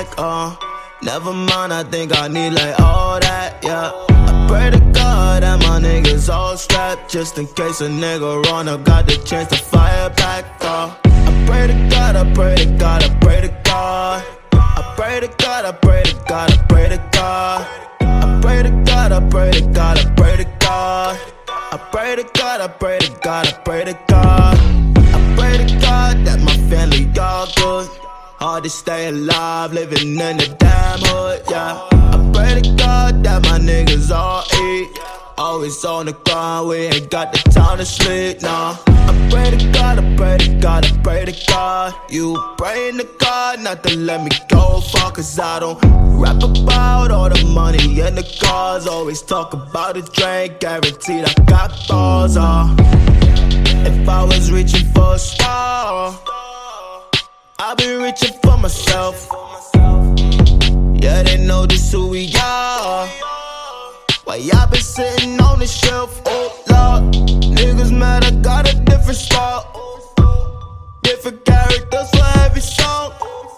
back, never mind, I think I need like all that, yeah. I pray to God that my niggas all strapped, just in case a nigga run up, got the chance to fire back, I pray to God, I pray to God, I pray to God. I pray to God, I pray to God, I pray to God. I pray to God, I pray to God, I pray to God. I pray to God, I pray to God, I pray to God. I pray to God that my family all good. Hard to stay alive, living in the damn hood, yeah. I pray to God that my niggas all eat. Always on the grind, we ain't got the time to sleep, nah. I pray to God, I pray to God, I pray to God. You praying to God not to let me go far, cause I don't rap about all the money and the cars. Always talk about the drink, guaranteed I got balls, If I was reaching for a star, I'd be reaching for myself. Yeah, they know this who we are. Why y'all been sitting on the shelf? Oh Lord, niggas mad I got a different spot. Different characters for every song.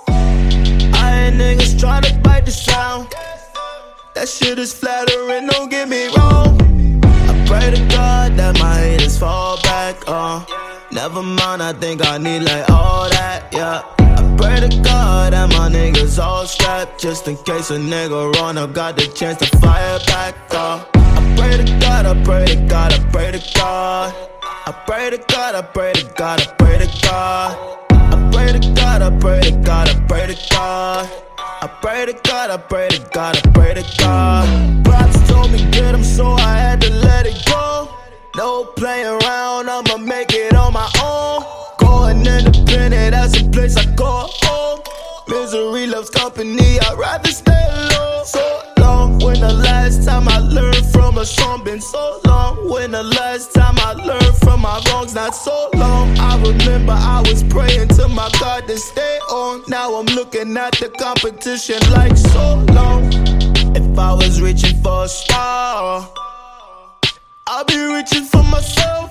I ain't niggas tryna bite the sound. That shit is flattering, don't get me wrong. I pray to God that my haters fall back, never mind, I think I need like all that, yeah. I pray to God that my niggas all strapped, just in case a nigga run up, got the chance to fire back, I pray to God, I pray to God, I pray to God. I pray to God, I pray to God, I pray to God. I pray to God, I pray to God, I pray to God. I pray to God, I pray to God, I pray to God. Pops told me get him, so I had to let it go. No playing around, I'ma make it on my own. Going independent, that's a place I call home. Misery loves company, I'd rather stay alone. So long, when the last time I learned from a song? Been so long, when the last time I learned from my wrongs? Not so long, I remember I was praying to my God to stay on. Now I'm looking at the competition like so long. If I was reaching for a star, I'll be reaching for myself.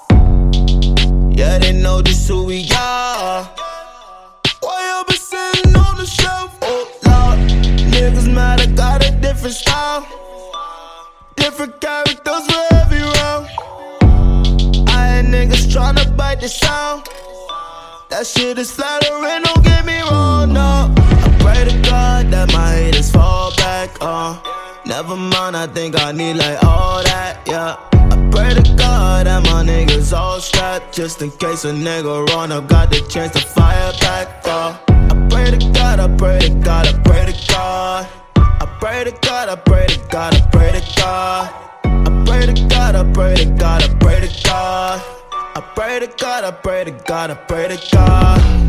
Yeah, they know this who we are. Why you been sitting on the shelf? Oh Lord, niggas mad I got a different style. Different characters for every round. I ain't niggas tryna bite the sound. That shit is flattering, don't get me wrong, no. I pray to God that my haters fall back, never mind, I think I need like all that, yeah. I pray to God that my niggas all strapped, just in case a nigga run up, got the chance to fire back, I pray to God, I pray to God, I pray to God. I pray to God, I pray to God, I pray to God. I pray to God, I pray to God, I pray to God. I pray to God, I pray to God, I pray to God.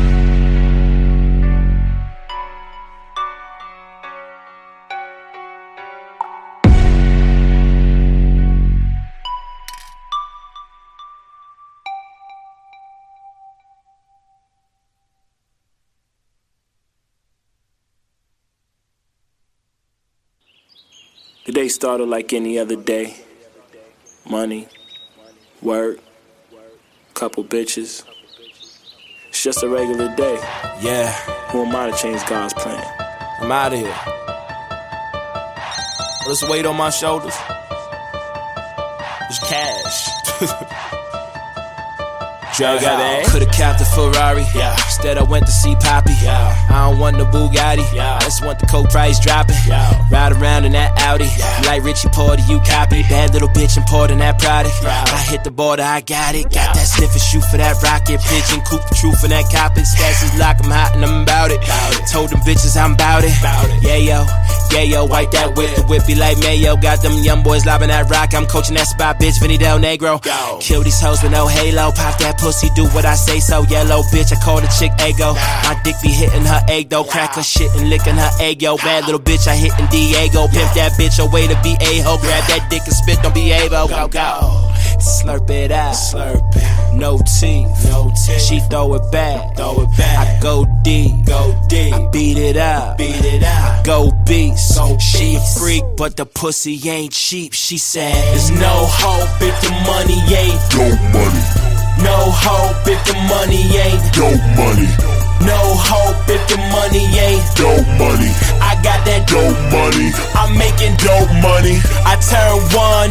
The day started like any other day. Money, work, couple bitches. It's just a regular day. Yeah. Who am I to change God's plan? I'm out of here. Let's weight on my shoulders. It's cash. Could've capped a Ferrari, yeah. Instead I went to see Poppy, yeah. I don't want the Bugatti, yeah. I just want the coke price dropping, yeah. Ride around in that Audi, yeah. Like Richie Porter, you copy. Bad little bitch importing that product, yeah. I hit the border, I got it. Got that sniff and shoot for that rocket. Pigeon coop the truth in that coppin'. Stats is lock, I'm hot and I'm about it. Told them bitches I'm about it. Yeah yo, wipe that whip. The whip be like Mayo. Got them young boys lobbing that rock. I'm coaching that spot, bitch, Vinny Del Negro. Kill these hoes with no halo. Pop that pussy, do what I say so. Yellow bitch, I call the chick Ego. My dick be hitting her egg though. Crack her shit and licking her egg, yo. Bad little bitch, I hitting Diego. Pimp that bitch away to be a-ho. Grab that dick and spit, don't be able. Go. Slurp it out. Slurp it. No teeth. She throw it back. I go deep. I beat it up. I go beast. She a freak, but the pussy ain't cheap. She said, there's no hope if the money ain't dope money. No hope if the money ain't dope money. No hope if the money ain't dope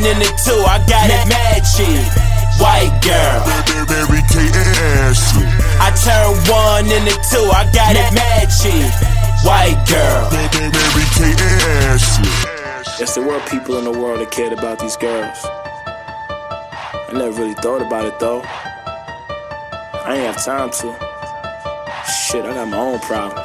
in it too. I got it mad cheap. White girl, Mary Kate and Ashley. I turned 1 into 2. I got it mad cheap. White girl, Mary Kate and Ashley. Yes, there were people in the world that cared about these girls. I never really thought about it though. I ain't have time to. Shit, I got my own problems.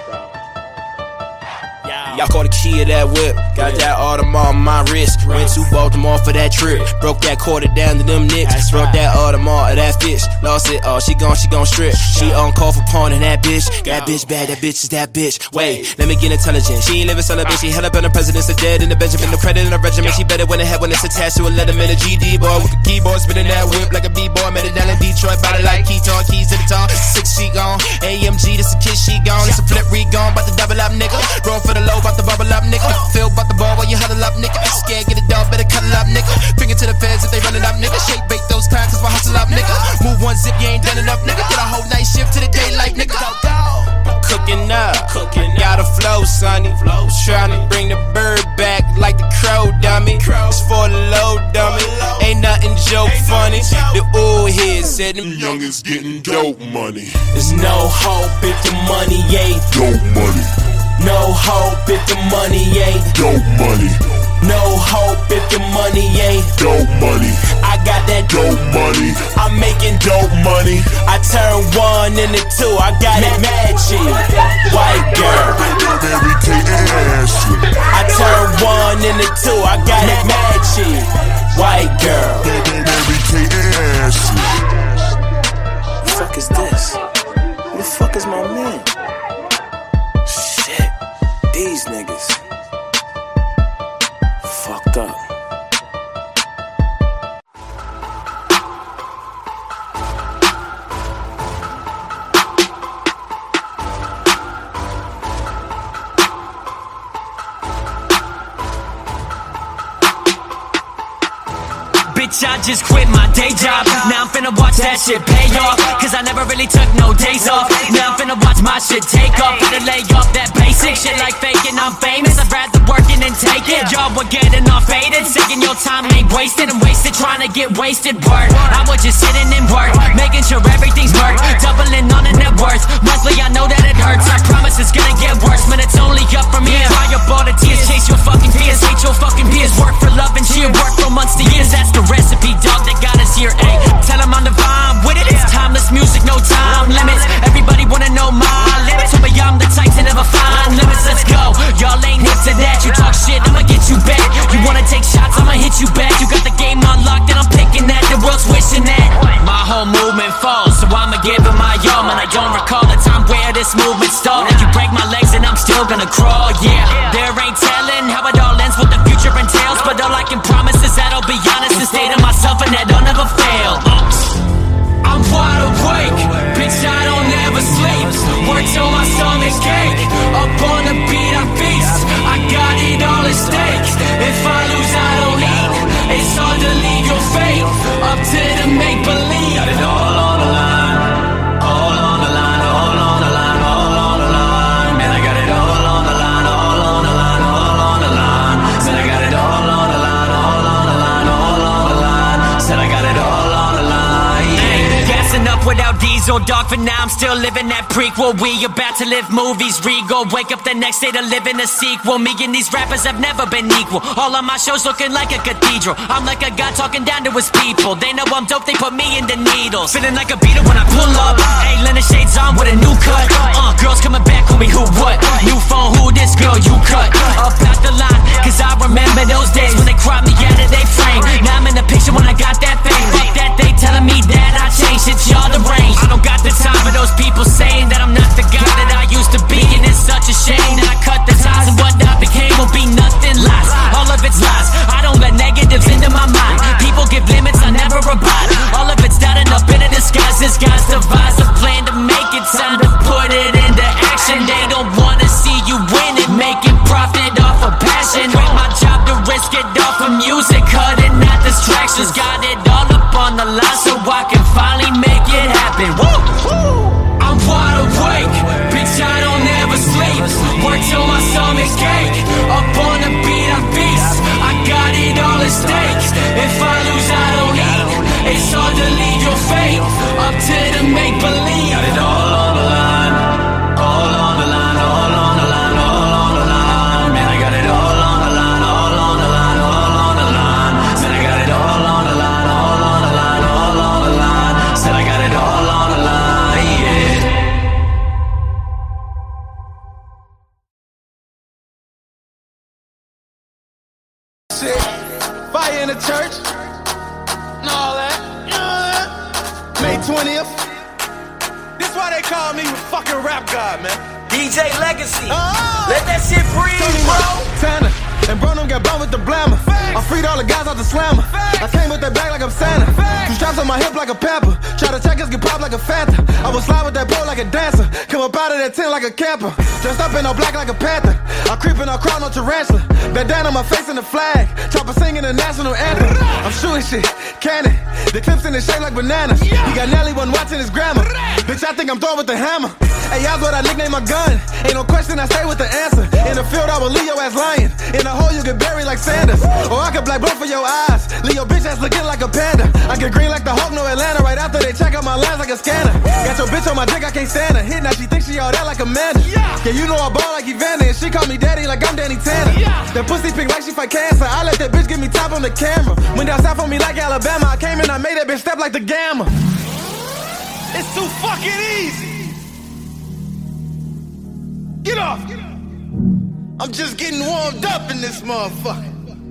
Y'all caught the key of that whip. Got that Audemars on my wrist. Went to Baltimore for that trip. Broke that quarter down to them nicks. Broke that Audemars of that fish. Lost it all. She gon' strip. She on call for pawning that bitch. That bitch bad. That bitch is that bitch. Wait, let me get intelligent. She ain't living celibate. She held up in the presidents. Dead in the Benjamin. No credit in the regiment. She better when it head when it's attached to a letterman. A GD boy with a keyboard. Spinning that whip like a B-boy. Met it down in Detroit. Body like Keaton. Keys to the tongue. 6 she gone. AMG. This a kiss she gone. It's a flip re-gone. About to double up nigga. Roll for the low. About to bubble up nigga. Feel about the ball while you huddle up nigga. Scared get it down. Better cuddle up nigga. Finger to the feds if they running up nigga. Shake bait those times cause we hustle up nigga. Move one zip you ain't done enough nigga. Get a whole night shift to the daylight nigga. Cooking up. Got a flow sonny. Tryna bring the bird back like the crow dummy. It's for the low dummy. Ain't nothing joke funny. The old head said them Youngins getting dope money. there's no hope if the money ain't. Dope money. No hope if the money ain't. Dope money. No hope if the money ain't. Dope money. I got that Dope money. I'm making Dope money. I turned 1 into 2. I got it mad cheap. White girl. Mary Kate and Ashley. I turned 1 into 2. I got it mad cheap. White girl. Mary Kate and Ashley. Who the fuck is this? Who the fuck is my man? Shit, these niggas fucked up. Bitch, I just quit my day job. Now I'm finna watch that shit pay off. Cause I never really took no days off. Now I'm finna watch my shit take off. Gotta lay off that basic shit like faking I'm famous. I'd rather work it and take it. Y'all were getting off faded. Saying your time ain't wasted. I'm wasted trying to get wasted work. I was just sitting in work, making sure everything's worked. Doubling on the net worth. Monthly, I know that it hurts. I promise it's gonna get worse. Man, it's only up from here. Cry up all the tears, chase your fucking fears. Hate your fucking peers. Work for love and cheer. Work for months to years. That's the recipe, dog, that got us here, ayy. Tell them I'm divine with it. It's timeless music, no time limits. Everybody wanna know my limits. Told me I'm the type to never find limits. Let's go. Y'all ain't hip to that. You talk shit, I'ma get you back. You wanna take shots, I'ma hit you back. You got the game unlocked and I'm picking that. The world's wishing that. My whole movement falls, so I'ma give it my all. Man, I don't recall a time where this movement stalled. You break my legs and I'm still gonna crawl, yeah. There ain't telling how it all ends, what the future entails. But all I can promise is that I'll be honest and stay to myself and that I'll never fail. I'm wide awake, bitch, I don't ever sleep. Work till my stomach's ache. Up on the beat, I feast. I got it all at stake. If I lose, I don't eat. It's hard to leave your fate up to the make-believe. Got it all on the line. All on the line, all on the line, all on the line. Man, I got it all on the line, all on the line, all on the line. Said I got it all on the line, all on the line, all on the line. Said I got it all on the line. Gassing up without diesel, dog. For now, I'm still living that prequel. We about to live movies regal. Wake up the next day to live in a sequel. Me and these rappers have never been equal. All of my shows looking like a cathedral. I'm like a god talking down to his people. They know I'm dope, they put me in the needles. Feeling like a beater when I pull up. Hey, Leonard shades on with a new cut. Girls coming back, call me who what? New phone, who this girl you cut? Up out the line, cause I remember those days when they cried me out of their frame. Now I'm in the picture when I got that fame. Fuck that, they telling me that I changed. It's y'all the range. I don't got the time for those people saying that I'm not the guy that I used to be. And it's such a shame that I cut the ties and what I became will be nothing less. All of it's lies. I don't let negatives into my mind. People give limits, I never abide. All of it's done up in a disguise. This guy's devise a plan to make it. Time to put it into action. They don't wanna see you win it. Making profit off of passion. Quit my job to risk it off of music. Cutting out distractions. Got it all up on the line so I can finally make it happen. Woo! I'm wide awake, bitch, I don't ever sleep. Work till my stomach's ache. Up on the beat, I feast. I got it all at stake. shit. Fire in the church. And all that. You know that? May 20th. This why they call me the fucking rap god, man. DJ Legacy. Let that shit breathe, bro. Tanner. And bro, them got bumped with the blammer. I freed all the guys out the slammer. I came with that bag like I'm Santa. Two straps on my hip like a pamper. Try to check us, get popped like a Fanta. I will slide with that pole like a dancer. Come up out of that tent like a camper. Dressed up in all black like a panther. I creep in all crowd, no tarantula. Bandana on my face and the flag. Chopper singing the national anthem. I'm shooting shit, cannon. The clips in the shape like bananas. He got Nelly one watching his grandma. Bitch, I think I'm throwing with the hammer. Hey, y'all's what I nickname my gun. Ain't no question, I stay with the answer. In the field, I will leave your ass lying. In the hole, you get buried like Sanders. Or I could black blood for your eyes. Leave your bitch ass looking like a panda. I get green like the Hulk, no Atlanta. Right after they check out my lines like a scanner. Got your bitch on my dick, I can't stand her. Hit now, she thinks she all that like Amanda. Yeah, you know I ball like Evander. And she call me daddy like I'm Danny Tanner. That pussy pink like she fight cancer. I let that bitch get me top on the camera. Went down south on me like Alabama. I came in, I made that bitch step like the Gamma. It's too fucking easy. Get off. I'm just getting warmed up in this motherfucker.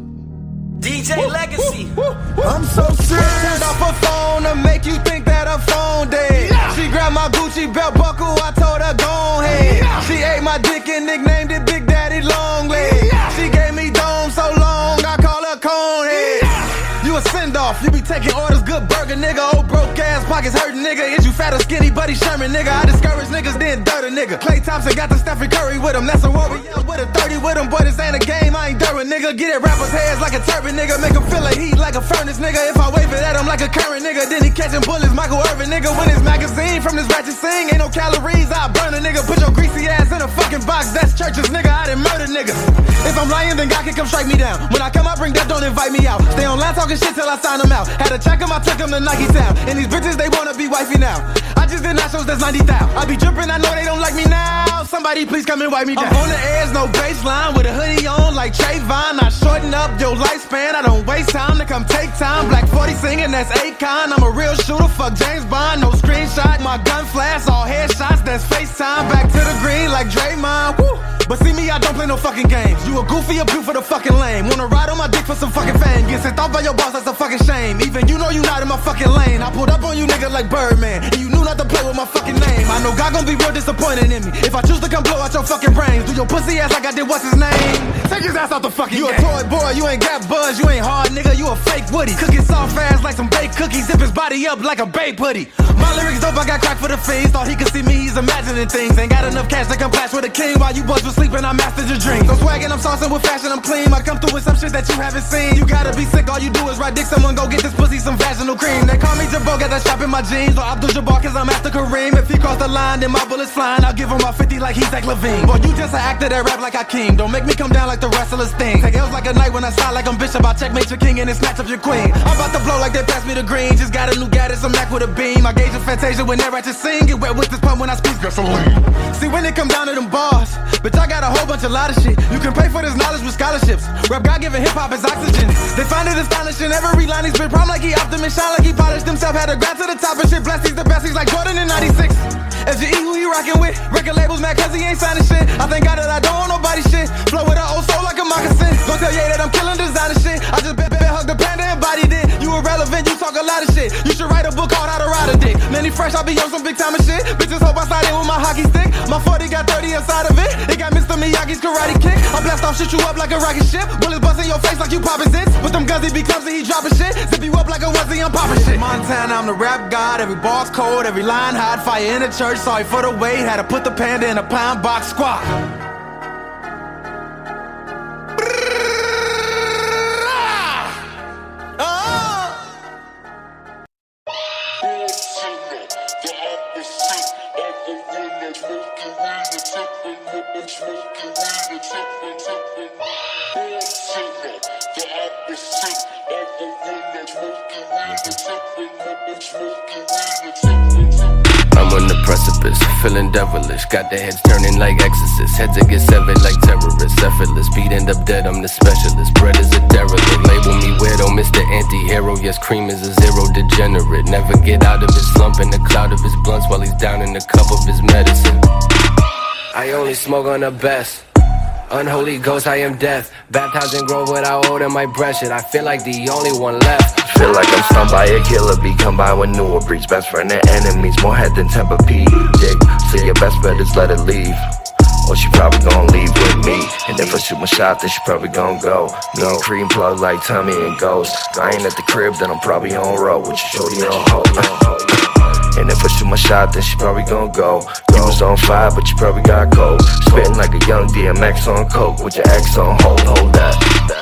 DJ Legacy. I'm so serious. Turned off her phone to make you think that her phone dead. She grabbed my Gucci belt buckle, I told her go ahead. She ate my dick and nicknamed it Big Daddy Long Leg. She gave me dome so long, I call her Conehead. You a send-off, you be taking orders, good burger, nigga. Old broke ass, pockets hurting, nigga. Is you fat or skinny, Buddy Sherman, nigga? I discourage niggas, then dirt a nigga. Klay Thompson got the Stephen Curry with him. That's a warrior with a 30 with him. Boy, this ain't a game, I ain't Derwin, nigga. Get at rappers' heads like a turban, nigga. Make him feel a heat like a furnace, nigga. If I wave it at him like a current, nigga, then he catching bullets, Michael Irvin, nigga. When his magazine from this ratchet sing, ain't no calories, I burn a nigga. Put your greasy ass in a fucking box, that's churches, nigga. I done murder niggas. If I'm lying, then God can come strike me down. When I come, I bring death, don't invite me out. Stay online talking shit till I sign them out. Had to check him, I took him to Nike Town. And these bitches, they wanna be wifey now. I just did nachos, that's 90,000. I be drippin', I know they don't like me now. Somebody please come and wipe me down. I'm on the edge, no baseline, with a hoodie on like Trayvon. I shorten up your lifespan, I don't waste time to come take time. Black 40 singing, that's Akon. I'm a real shooter, fuck James Bond. No screenshot, my gun flash, all headshots, that's FaceTime. Back to the green like Draymond, woo. But see me, I don't play no fucking games. You a goofy, a beaut for the fucking lame. Wanna ride on my dick for some fucking fame. Get sent off by your boss, that's a fucking shame. Even you know you not in my fucking lane. I pulled up on you nigga like Birdman, and you knew not to play with my fucking name. I know God gon' be real disappointed in me if I choose to come blow out your fucking brains. Do your pussy ass like I did what's his name. Take his ass out the fucking game. You a toy boy, you ain't got buzz, you ain't hard nigga, you a fake Woody. Cooking soft fast like some baked cookies, zip his body up like a baked putty. My lyrics dope, I got crack for the fiends. Thought he could see me, he's imagining things. Ain't got enough cash to come clash with a king. While you boys was sleeping, I mastered your dreams. I'm swaggin', I'm saucing with fashion, I'm clean. I come through with some shit that you haven't seen. You gotta be sick, all you do is ride dick. Someone go get this pussy some vaginal cream. They call me Jabbo, got that shop in my jeans. Or Abdul Jabbar, cause I'm after Kareem. If he cross the line, then my bullets flying. I'll give him my 50 like he's Zach Levine. Boy, you just an actor that rap like Hakeem. Don't make me come down like the wrestlers thing. Take L's like a night when I slide like I'm Bishop. I checkmate your king and then snatch up your queen. I'm about to blow like they passed me the green. Just got a new Gaddis, I'm Mac with a beam. I gauge a Fantasia when they're at your sing. Get wet with this pump when I squeeze gasoline. See, when it come down to them bars, bitch, I got a whole bunch of lot of shit. You can pay for this knowledge with scholarships. Rap God giving hip-hop is oxygen. They find it astonishing. Every line he's been prom like he optimist. Shine like he polished himself. Had to grab to the top and shit. Bless, he's the best. He's like Jordan in 96. FGE, who he rockin' with? Record labels mad cause he ain't signing shit. I thank God that I don't want nobody shit. Flow with an old soul like a moccasin. Don't tell Ye that I'm killing designer shit. I just bet hug the panda and bodied it. You irrelevant, you talk a lot of shit. You should write a book called How to Ride a Dick. Many fresh, I be on some big time of shit. Bitches hope I slide in with my hockey stick. My 40 got 30 inside of it. It got Mr. Miyagi's karate kick. I blast off, shoot you up like a rocket ship. Bullets bust in your face like you poppin' zits. With them guns, he be clumsy, he droppin' shit. Zip you up like a onesie, I'm poppin' shit. Montana, I'm the rap god. Every bar's cold, every line hot. Fire in the church, sorry for the wait. Had to put the panda in a pound box squat. I'm on the precipice, feeling devilish. Got their heads turning like exorcists. Heads that get severed like terrorists. Effortless, beat end up dead, I'm the specialist. Bread is a derelict, label me weirdo, Mr. Anti-Hero. Yes, cream is a zero degenerate. Never get out of his slump in the cloud of his blunts while he's down in the cup of his medicine. I only smoke on the best. Unholy ghost, I am death. Baptized in grove without holding my breath. Shit, I feel like the only one left. Feel like I'm stunned by a killer bee. Come by with newer breeds. Best friend and enemies. More head than Tempur-Pedic. So your best bet is let it leave. Or she probably gon' leave with me. And if I shoot my shot, then she probably gon' go. Me and Cream plug like Tommy and Ghost. I ain't at the crib, then I'm probably on road with your shorty on hold. And if I shoot my shot, then she probably gon' go. You was on fire, but you probably got cold. Spitting like a young DMX on coke with your ex on hold. Hold that.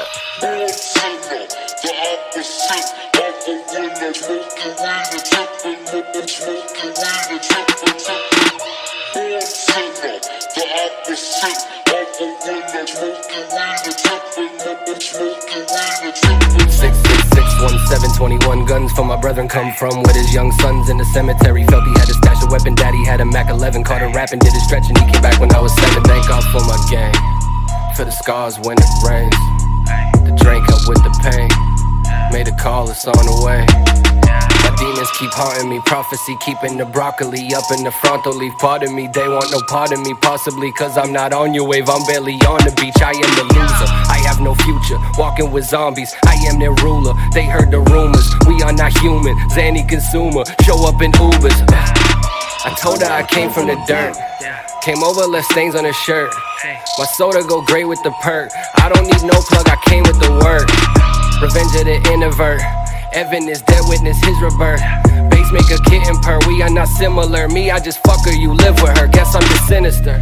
Guns for my brethren come from with his young sons in the cemetery. Felt he had a stash of weapon, daddy had a Mac 11. Caught him rapping, did his stretch and he came back when I was 7. Thank God for my gang, for the scars when it rains. The drink help with the pain, made a call, it's on the way. My demons keep haunting me, prophecy keeping the broccoli up in the frontal leaf. Pardon me, they want no part of me, possibly cause I'm not on your wave. I'm barely on the beach, I am the loser, I have no future, walking with zombies, I am their ruler. They heard the rumors, we are not human, Zanny consumer, show up in Ubers. I told her I came from the dirt, came over, left stains on her shirt. My soda go great with the perk, I don't need no plug, I came with the work. Revenge of the introvert, Evan is dead, witness his rebirth. Bass make a kitten purr, we are not similar. Me, I just fuck her, you live with her, guess I'm just sinister.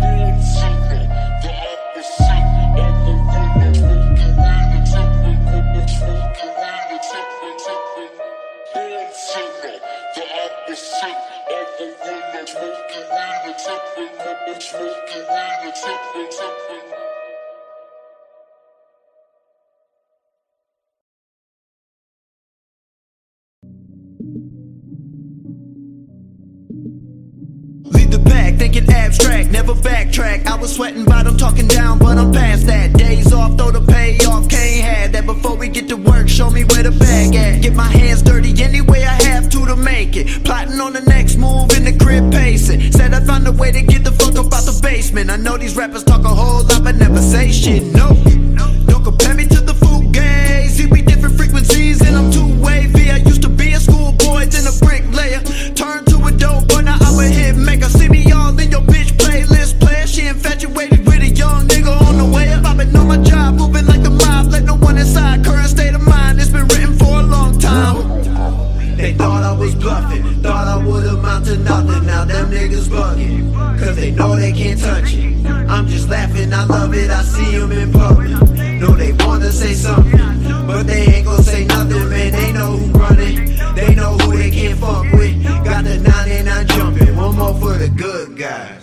Lead the pack, thinking abstract, never backtrack. I was sweating bottom, talking down, but I'm past that. Days off, throw the payoff, can't have that. Before we get to work, show me where the bag at. Get my hands dirty any way I have to make it. Plotting on the next move in the crib, pacing. Said I found a way to get the fuck up out the basement. I know these rappers talk a whole lot, but never say shit, no. Don't compare me to the Fugazi. We different frequencies and I'm too wavy. I used to be a schoolboy, then a bricklayer. Turned to a dope, but now I'm a hit maker. See me all in your bitch playlist player. She infatuated with a young nigga on the way up. I've been on my job, moving like the mob, let no one inside. Current state of mind, it's been written for a long time. They thought I was bluffing, thought I would amount to nothing. Now them niggas bugging, cause they know they can't touch it. I'm just laughing, I love it, I see them in public. Know they wanna say something, but they ain't gon' say nothing, man. They know who running, they know who they can't fuck with. Got the 99 jumping, one more for the good guys.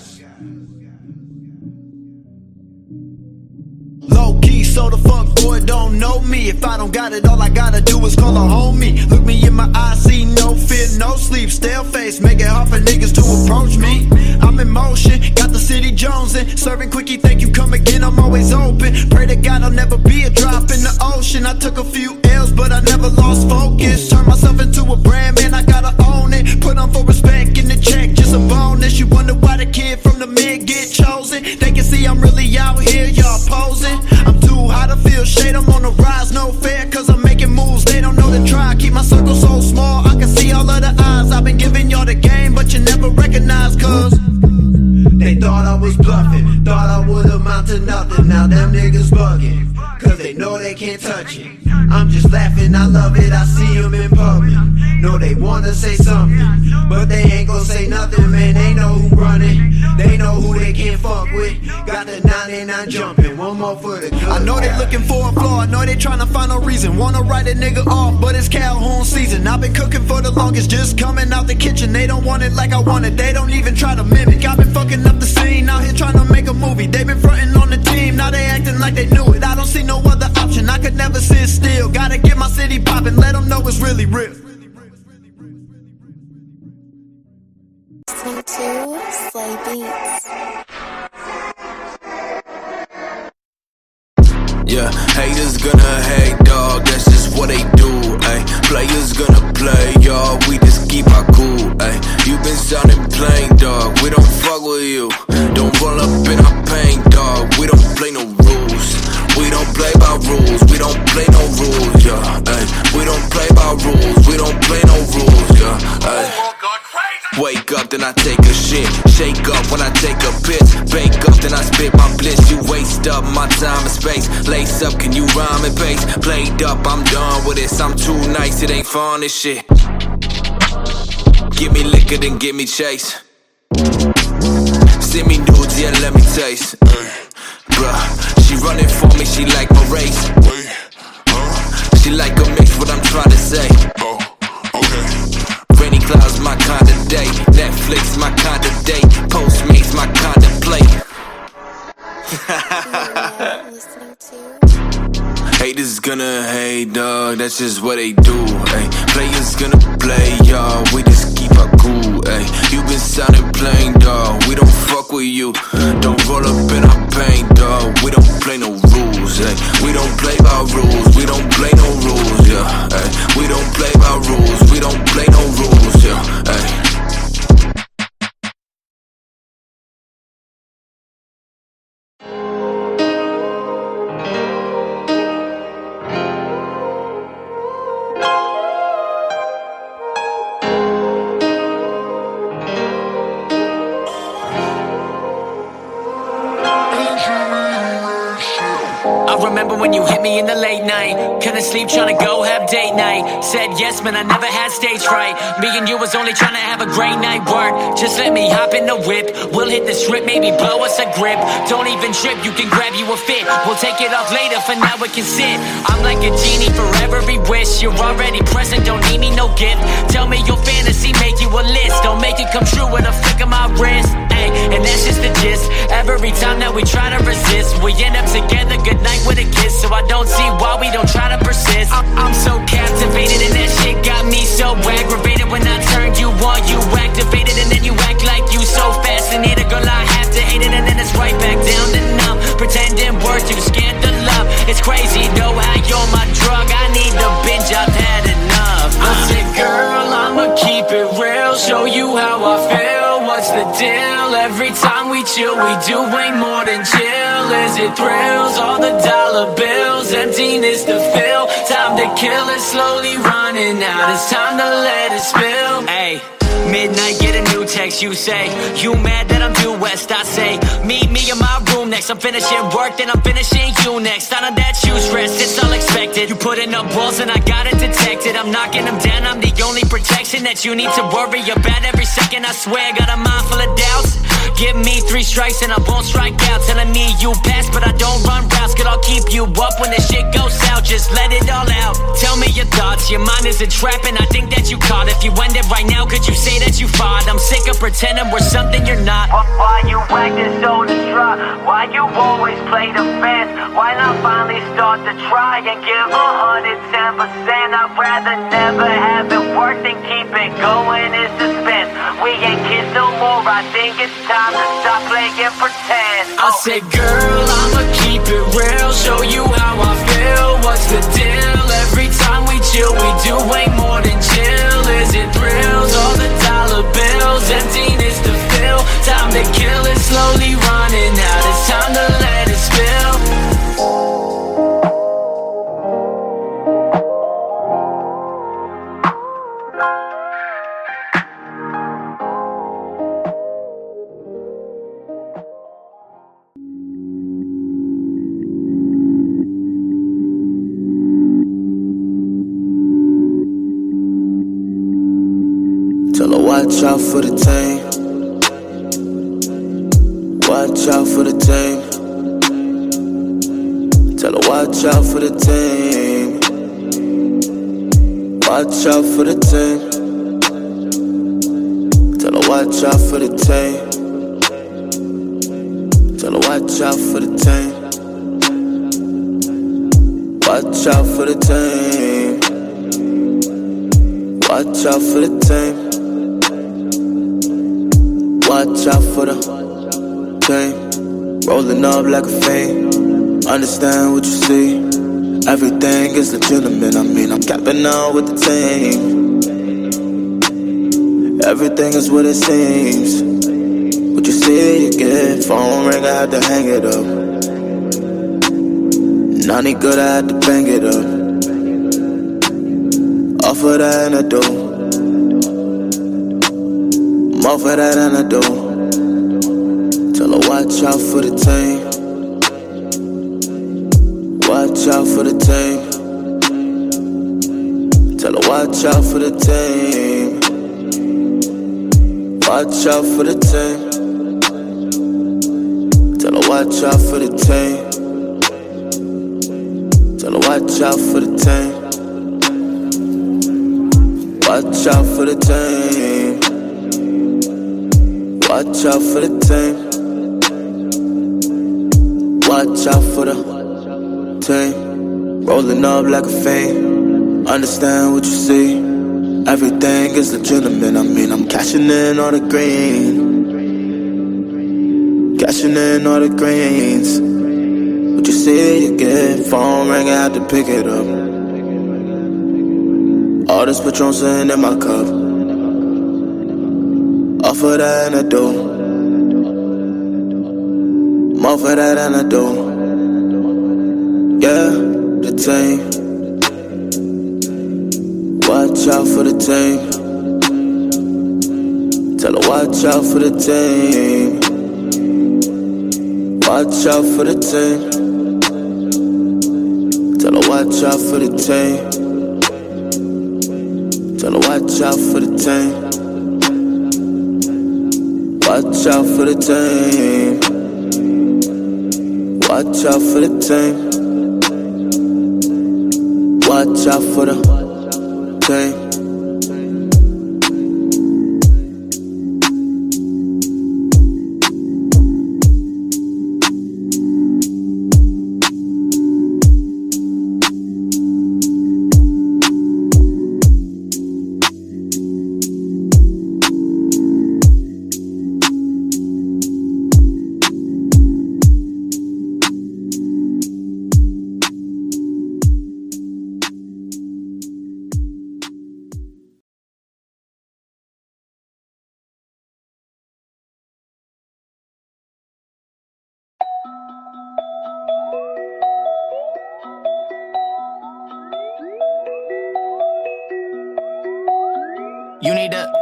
Low key, so the fuck boy don't know me. If I don't got it, all I gotta do is call a homie. Look me in my eyes, see no fear, no sleep. Stale face, make it hard for niggas to approach me. I'm in motion, got the city jonesing. Serving quickie, thank you, come again, I'm always open. Pray to God I'll never be a drop in the ocean. I took a few L's, but I never lost focus. Turned myself into a brand, man, I gotta own it. Put on for respect in the check, just a bonus. You wonder why the kid from the mid get chosen. They can see I'm really out here, y'all posing. I'm too hot to feel shade, I'm on the rise, no fair, cause I'm making moves, they don't know to try. Keep my circle so small, I can see all of the eyes. I've been giving y'all the game, but you never recognize, cause they thought I was bluffing, thought I would amount to nothing. Now them niggas bugging, cause they know they can't touch it. I'm just laughing, I love it, I see them in public. Know they wanna say something, but they ain't gon' say nothing, man. They know who running, they know who they can't fuck with. Got the 99 jumping, one more for the good. I know they looking for a flaw, I know they tryna find no reason. Wanna write a nigga off, but it's Calhoun season. I've been cooking for the longest, just coming out the kitchen. They don't want it like I want it, they don't even try to mimic. I've been fucking up the scene, out here trying to make a movie. They been fronting on the team, now they acting like they knew it. I don't see no other option, I could never sit still. Gotta get my city poppin', let them know it's really real. Listening to Slay Beats. Yeah, haters gonna hate, dog, that's just what they do, ayy. Players gonna play, y'all, we just keep our cool, ayy. You been sounding plain, dog, we don't fuck with you. Don't roll up in our pain, dog, we don't play no rules. I spit my bliss, you waste up my time and space. Lace up, can you rhyme and bass? Played up, I'm done with this. I'm too nice, it ain't fun, this shit. Give me liquor, then give me chase. Send me nudes, yeah, let me taste. Bruh, she running for me, she like my race. She like a mix, what I'm trying to say. Rainy clouds, my kind of day. Netflix, my kind of day. Postmates, my kind of play. Haters gonna hate, dog, that's just what they do, ayy. Players gonna play, y'all, we just keep our cool, ayy. You been sounding plain, dog, we don't fuck with you. Don't roll up in our pain, dog, we don't play no rules, ayy. We don't play by rules, we don't play no rules, yeah, ayy. We don't play by rules, we don't play no rules, yeah, ayy. Remember when you hit me in the late night? Couldn't sleep, tryna go have date night. Said yes, man, I never had stage fright. Me and you was only tryna have a great night. Work, just let me hop in the whip. We'll hit the strip, maybe blow us a grip. Don't even trip, you can grab you a fit. We'll take it off later, for now it can sit. I'm like a genie for every wish. You're already present, don't need me no gift. Tell me your fantasy, make you a list. Don't make it come true with a flick of my wrist. Ay, and that's just the gist. Every time that we try to resist, we end up together, good night with a kiss. So I don't see why we don't try to persist. I'm so captivated and that shit got me so aggravated. When I turned you on, you activated, and then you act like you so fascinated. Girl, I have to hate it, and then it's right back down to numb. Pretending we're too scared to love. It's crazy though how you're my drug. I need the binge, I've had enough. I said, girl, I'ma keep it real, show you how I feel. What's the deal? Every time we chill, we do way more than chill. Is it thrills? All the dollar bills, emptiness to fill. Time to kill it, slowly running out. It's time to let it spill. Ay. Midnight, get a new text, you say. You mad that I'm due west, I say. Meet me in my room next, I'm finishing work, then I'm finishing you next. None of that you stress, it's all expected. You putting up walls and I got it detected. I'm knocking them down, I'm the only protection that you need to worry about every second. I swear, got a mind full of doubts. Give me 3 strikes and I won't strike out. Telling me you pass, but I don't run routes. Cause I'll keep you up when the shit goes south. Just let it all out. Tell me your thoughts, your mind is a trap and I think that you caught. If you end it right now, could you say that you fought? I'm sick of pretending we're something you're not. Why you acting so distraught? Why you always play the fence? Why not finally start to try and give 110%? I'd rather never have it work than keep it going in suspense. We ain't kids no more, I think it's time to stop playing pretend. I said, girl, I'ma keep it real, show you how I feel. What's the deal? Every time we chill, we do way more than chill. Is it thrills? All the dollar bills, emptiness to fill. Time to kill it, slowly running out. It's time to let it spill. Tell her watch out for the team. Watch out for the team. Tell her watch out for the team. Watch out for the team. Tell her watch out for the team. Tell her watch out for the team. Watch out for the team. Watch out for the team. Watch out for the team. Rolling up like a fiend. Understand what you see. Everything is legitimate. I mean, I'm capping out with the team. Everything is what it seems. What you see, you get. Phone ring, I had to hang it up. None good, I had to bang it up. Off of that and I do. I'm off of that and I do. Tell Tell her watch out for the team. Watch out for the team. Tell her watch out for the team. Watch out for the team. Tell her watch out for the team. Tell her watch out for the team. Watch out for the team. Watch out for the team. Watch out for the team. Rolling up like a fiend. Understand what you see. Everything is legitimate. I mean, I'm cashing in all the green. Cashing in all the greens. What you see, you get. Phone ring, I had to pick it up. All this Patron sitting in my cup. Off of that and I do. More for that and I do. Yeah, the team. Watch out for the team. Tell her watch out for the team. Watch out for the team. Tell her watch out for the team. Tell her watch out for the team. Watch out for the team. Watch out for the team. Watch out for the team. You need to,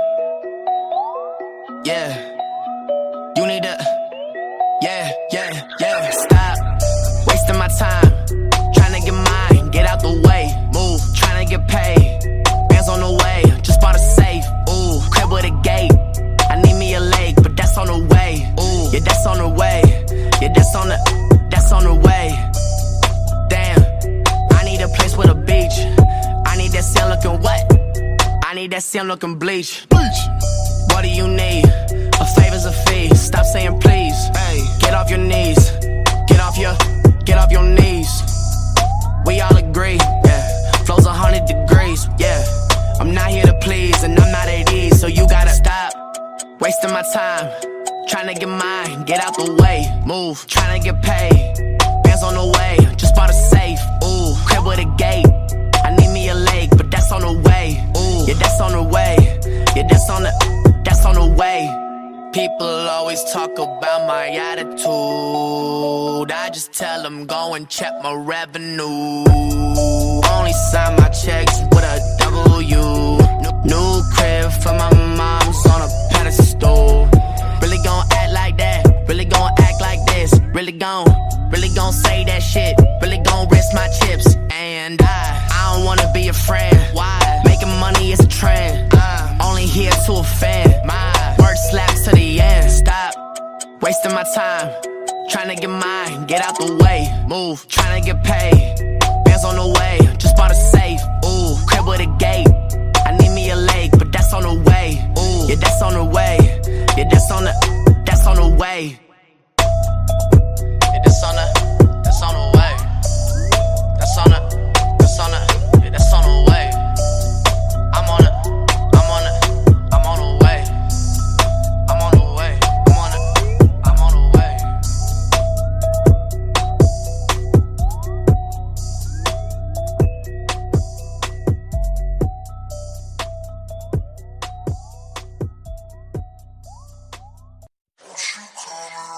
yeah. You need to, yeah. Stop wasting my time, trying to get mine, get out the way, move, trying to get paid. Bands on the way, just bought a safe, ooh, crib with a gate. I need me a leg, but that's on the way, ooh, yeah, that's on the way, yeah, that's on the way. Damn, I need a place with a beach. I need that sun looking wet. I need that sun looking bleach. What do you need? A favor's a fee. Stop saying please. Hey, get off your knees. Get off your knees. We all agree, yeah. Flow's 100 degrees, yeah. I'm not here to please, and I'm not at ease, so you gotta stop wasting my time. Trying to get mine, get out the way, move. Trying to get paid. Bands on the way, just bought a safe. Ooh, crib with a gate. I need me a leg, but that's on the way. Ooh, yeah, that's on the way. Yeah, that's on the way. People always talk about my attitude. I just tell them go and check my revenue. Only sign my checks with a W. New crib for my mom's on a pedestal. Really gon' act like that. Really gon' act like this. Really gon' say that shit. Really gon' risk my chips. And I don't wanna be a friend. Why? Making money is a trend. Only here to offend. My word slaps to the end. Stop wasting my time. Trying to get mine, get out the way. Move, trying to get paid. Bands on the way, just bought a safe. Ooh, crib with a gate. I need me a leg, but that's on the way. Ooh, yeah, that's on the way. Yeah, that's on the way. Yeah, that's on the way. That's on the, yeah, that's on the way. I'm on the way. I'm on the way. Won't you come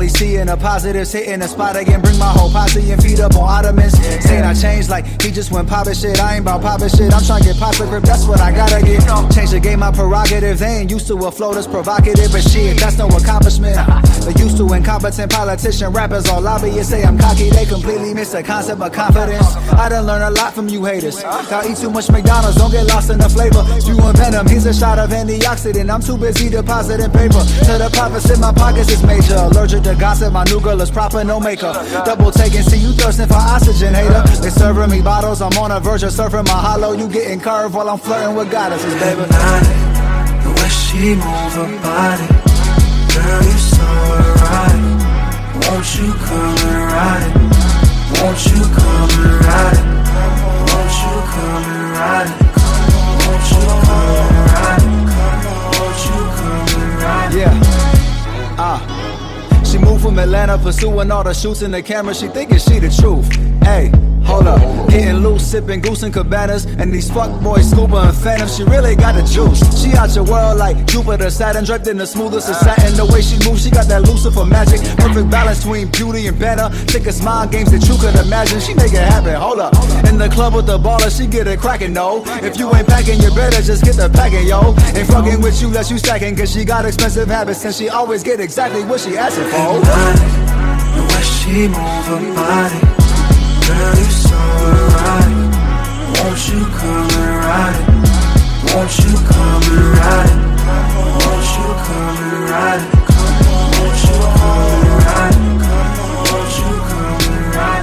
only seeing the positives, hitting the spot again. Bring my whole posse and feet up on ottomans. Saying I changed like he just went poppin' shit. I ain't about poppin' shit, I'm trying to get pop the grip, that's what I gotta get. Change the game, my prerogative. They ain't used to a flow that's provocative, but shit, that's no accomplishment. They used to incompetent politician rappers, all lobbyists say I'm cocky. They completely miss the concept of confidence. I done learned a lot from you haters. Y'all eat too much McDonald's, don't get lost in the flavor. You and Venom, he's a shot of antioxidant. I'm too busy depositing paper. To the profits in my pockets is major. Allergic to gossip, my new girl is proper, no makeup. Double taking, see you thirsting for oxygen, hater. They serving me bottles, I'm on a verge of surfing my hollow. You getting curved while I'm flirting with goddesses, baby. The way she move her body, girl, you so erotic. Won't you come and ride it? Won't you come and ride it? Won't you come and ride it? Won't you come and ride it? Won't you come and ride it? Yeah, she moved from Atlanta, pursuing all the shoots in the camera. She thinking she the truth. Hey, hold up, getting loose, sipping goose and cabanas, and these fuckboys scuba and phantoms. She really got the juice. She out your world like Jupiter, Saturn, draped in the smoothest of satin. The way she moves, she got that Lucifer magic. Perfect balance between beauty and banter. Thickest mind games that you could imagine. She make it happen. Hold up, in the club with the baller, she get it cracking. No, if you ain't packing, you better just get the packing, yo. Ain't fucking with you, that you stacking, cause she got expensive habits and she always get exactly what she asking for. The way she move her body, girl, you so erotic. Won't you come and ride it? Won't you come and ride it? Won't you come and ride it? Won't you come and ride it? Won't you come and ride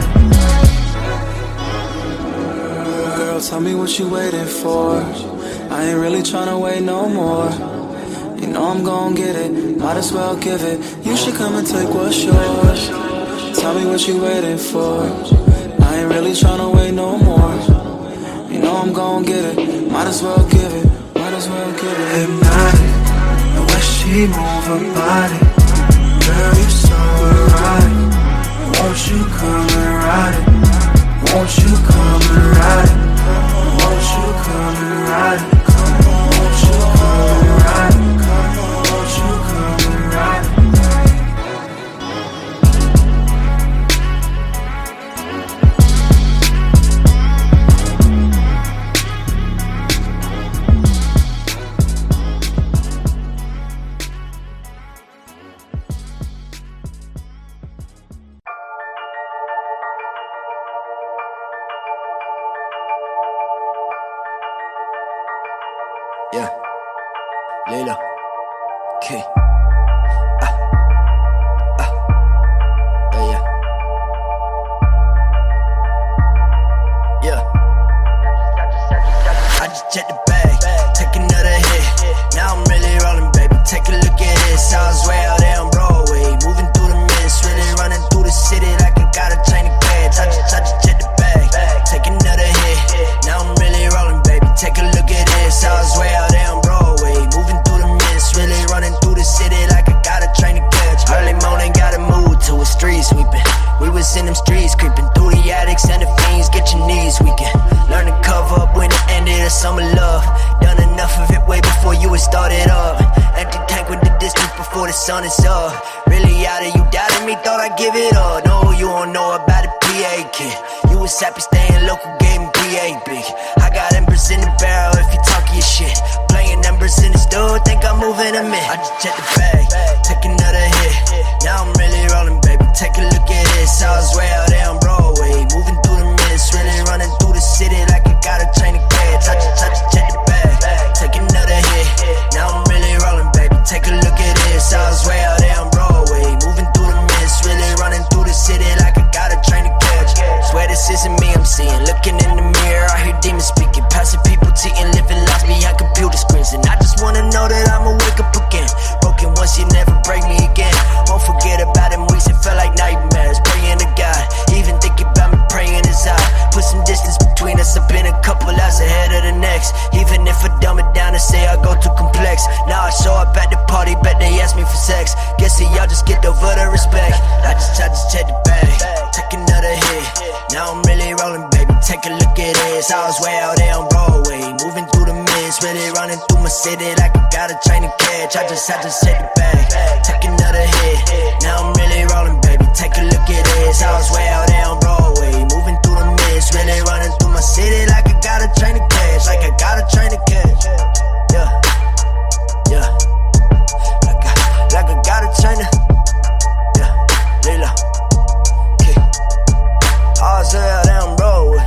it? Girl, tell me what you waiting for. I ain't really tryna wait no more. You know I'm gon' get it, might as well give it. You should come and take what's yours. Tell me what you waiting for. I ain't really tryna wait no more. You know I'm gon' get it, might as well give it. Might as well give it. Hypnotic, the way she move her body, girl, you so erotic. Won't you come and ride it? Won't you come and ride it? Won't you come and ride it? Won't you come and ride it? Won't you come and ride it? Yeah, Layla, K. Yeah. I just checked the bag, take another hit. Now I'm really rolling, baby. Take a look at this. I was way out there on Broadway, moving through the mist, really running through the city like I got a chain of cash. I just checked the bag, take another hit. Now I'm really rolling, baby. Take a look at this. I was way out there on Broadway, moving through the mist, really running through the city like I got a train to catch. Early morning, got a move to a street sweeping. We was in them streets, creeping through the attics and the fiends. Get your knees weakened. Learn to cover up when it ended of summer love. Done enough of it way before you had started up. Empty tank with the distance before the sun is up. Really out of you doubted me, thought I'd give it up. No, you don't know about the PA kid. You was happy staying local, gave me PA big. I got embers in the barrel if you talk your shit. Playing numbers in the store, think I'm moving them in. I just checked the bag, take another hit. Now I'm really rolling, baby. Take a look at this. I was way out there on Broadway, moving through the mist, really running through the city like I got a chain of cash. I just checked the bag, take another hit. Now I'm really rolling, baby. Take a look at this. I was way out there on Broadway, moving through the mist, really running through the city like I got a train to catch. Swear this isn't me I'm seeing. Looking in the mirror, I hear demons speaking, passing people cheating, living lives behind computer screens. And I just wanna know that I'ma wake up again. Broken once, you never break me again. Won't forget about them weeks, it felt like nightmares. Praying to God, even thinking about me praying his eye. Put some distance between us, I've been a couple hours ahead of the next. Even if I dumb it down and say I go too complex. Now I show up at the party, bet they ask me for sex. Guess that y'all just get over the respect. I just check the bag, take another hit. Now I'm really rolling, baby. Take a look at this. I was way out there on Broadway, moving through the mist, really running through my city like I got a train to catch. I just had to sit the bag, take another hit. Now I'm really rolling, baby. Take a look at this. I was way out there on Broadway, moving through the mist, really running through my city like I got a train to catch, like I got a train to catch. Yeah, yeah, like I got a train to. Yeah, Lila, okay. I was way out there on Broadway.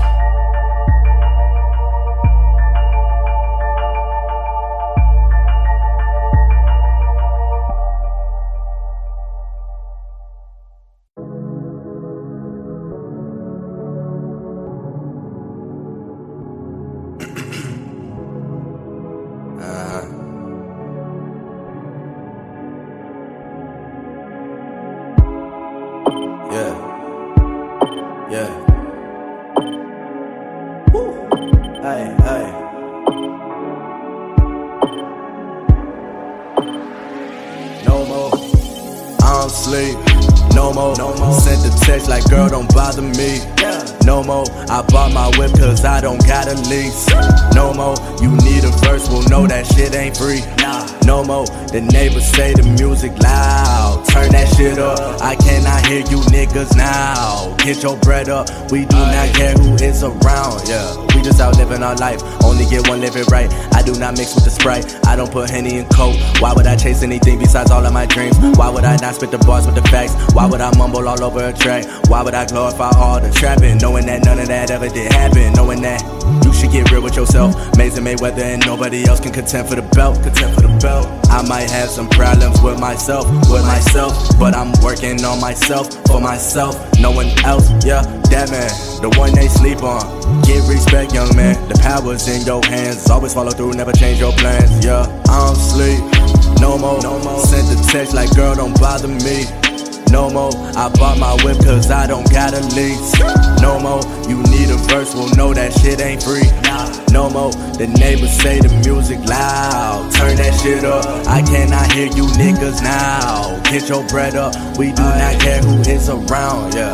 Sent the text like, girl, don't bother me. No more, I bought my whip cause I don't got a lease. No more, you need a verse, well no, that shit ain't free. No more, the neighbors say the music loud. Turn that shit up, I cannot hear you niggas now. Get your bread up, we do not care who is around, yeah. We just out living our life, only get one, live it right. I do not mix with the Sprite, I don't put Henny in Coke. Why would I chase anything besides all of my dreams? Why would I not spit the bars with the facts? Why would I mumble all over a track? Why would I glorify all the trapping? Knowing that none of that ever did happen. Knowing that you should get real with yourself. Mason Mayweather and nobody else can contend for the belt. Contend for the belt. I might have some problems with myself, but I'm working on myself, for myself, no one else, yeah, that man, the one they sleep on. Get respect, young man, the power's in your hands. Always follow through, never change your plans, yeah. I don't sleep, no more. Sent the text like, girl, don't bother me. No more, I bought my whip cause I don't got a lease. No more, you need a verse, well no, that shit ain't free. No more, the neighbors say the music loud. Turn that shit up, I cannot hear you niggas now. Get your bread up, we do not care who is around, yeah.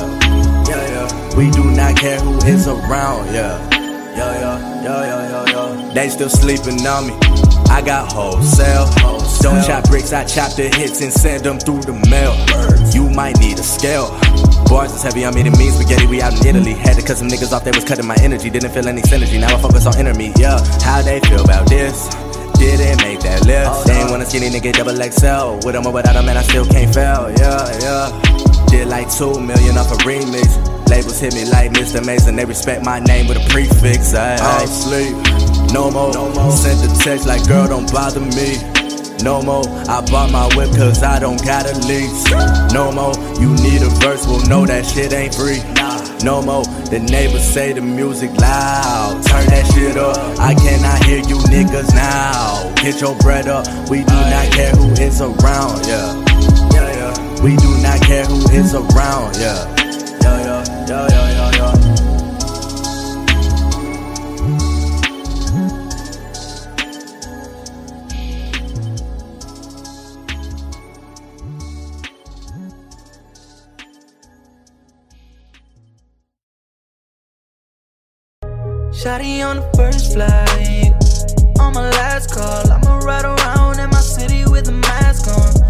We do not care who is around, yeah. They still sleeping on me, I got wholesale. Don't chop bricks, I chop the hits and send them through the mail. You might need a scale. Bars is heavy on me, it means spaghetti, we out in Italy. Had to cut some niggas off, they was cutting my energy. Didn't feel any synergy, now I focus on inner me, yeah. How they feel about this? Didn't make that list. They ain't want a skinny nigga double XL. With them or without them, man, I still can't fail, yeah. Did like 2 million off a remix. Labels hit me like Mr. Mason, they respect my name with a prefix. I don't sleep, no more. Sent the text like, girl, don't bother me. No more, I bought my whip cause I don't got a lease. No more, you need a verse, well no, that shit ain't free. No more, the neighbors say the music loud. Turn that shit up, I cannot hear you niggas now. Get your bread up, we do not care who is around, yeah. We do not care who is around, yeah. Shawty on the first flight, on my last call. I'ma ride around in my city with a mask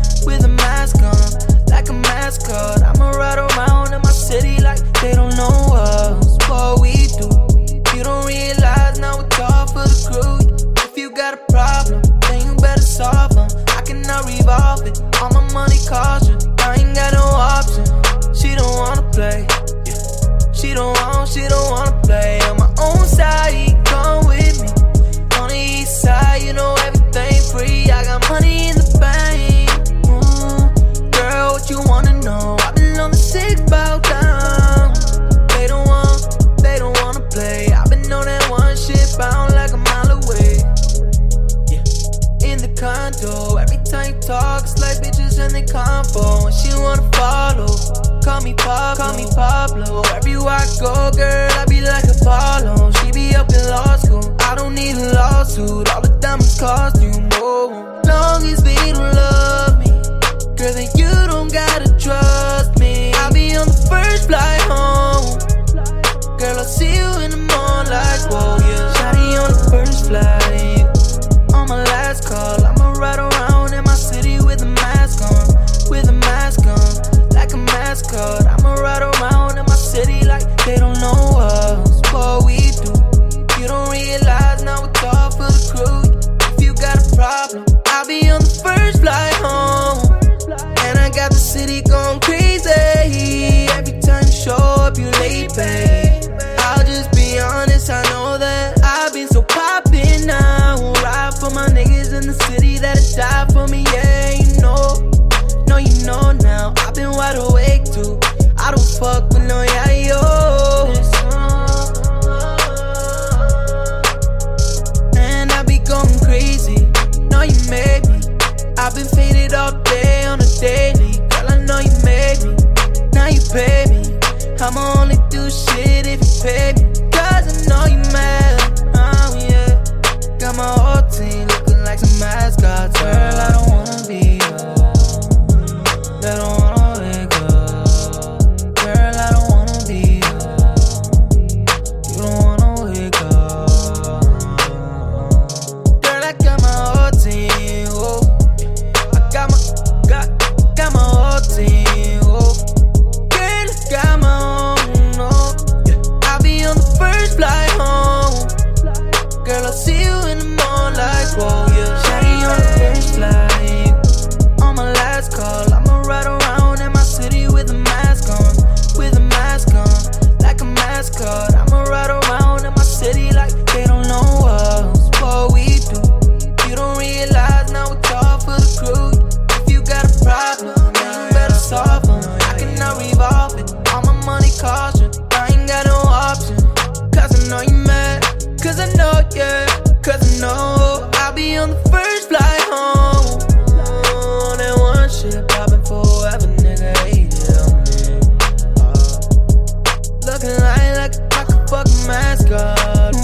on, like a mascot. I'ma ride around in my city like they don't know us, what we do. You don't realize now it's all for the crew. If you got a problem, then you better solve them. I cannot revolve it, all my money caution. I ain't got no option. She don't wanna play, She don't wanna play on my own side. Come with me on the east side. You know everything free. I got money in the bank. Girl, what you wanna know? I've been on the 6 bow down. They don't wanna play. I've been on that one shit bound like a mile away. Yeah, in the condo. Every time you talk, it's like bitches and they combo. And she wanna follow. Call me Pablo. Everywhere I go, girl, I be like Apollo. She be up in law school. I don't need a lawsuit. All the diamonds cost you more. Long as they don't love me, girl, then you don't gotta trust me. I'll be on the first flight home. Girl, I'll see you in the morning like, whoa, yeah. Shawty on the first flight, on my last I'ma only do shit if you pay me, cause I know you mad. Oh yeah, got my whole team looking like some mascots. Girl, I don't wanna be yours. They don't wanna wake up. Girl, I don't wanna be yours. You don't wanna wake up. Girl, I got my whole team. Oh, I got my whole team. Oh, girl, I got my own. Oh, yeah. I'll be on the first flight home. Girl, I'll see you in the morning like whoa, yeah. Shawty on the first flight. On my last call, I'ma ride around in my city with a mask on. With a mask on, like a mascot. I'ma ride around in my city like they don't know us. What we do, you don't realize now it's all for the crew. If you got a problem, then you better solve them. I cannot revolve it, all my money caution. I ain't got no option, cause I know you mad. Cause I know, yeah, cause I know I'll be on the first flight home. Oh, that one shit poppin' forever, nigga, hey, yeah, looking like a fucking mascot.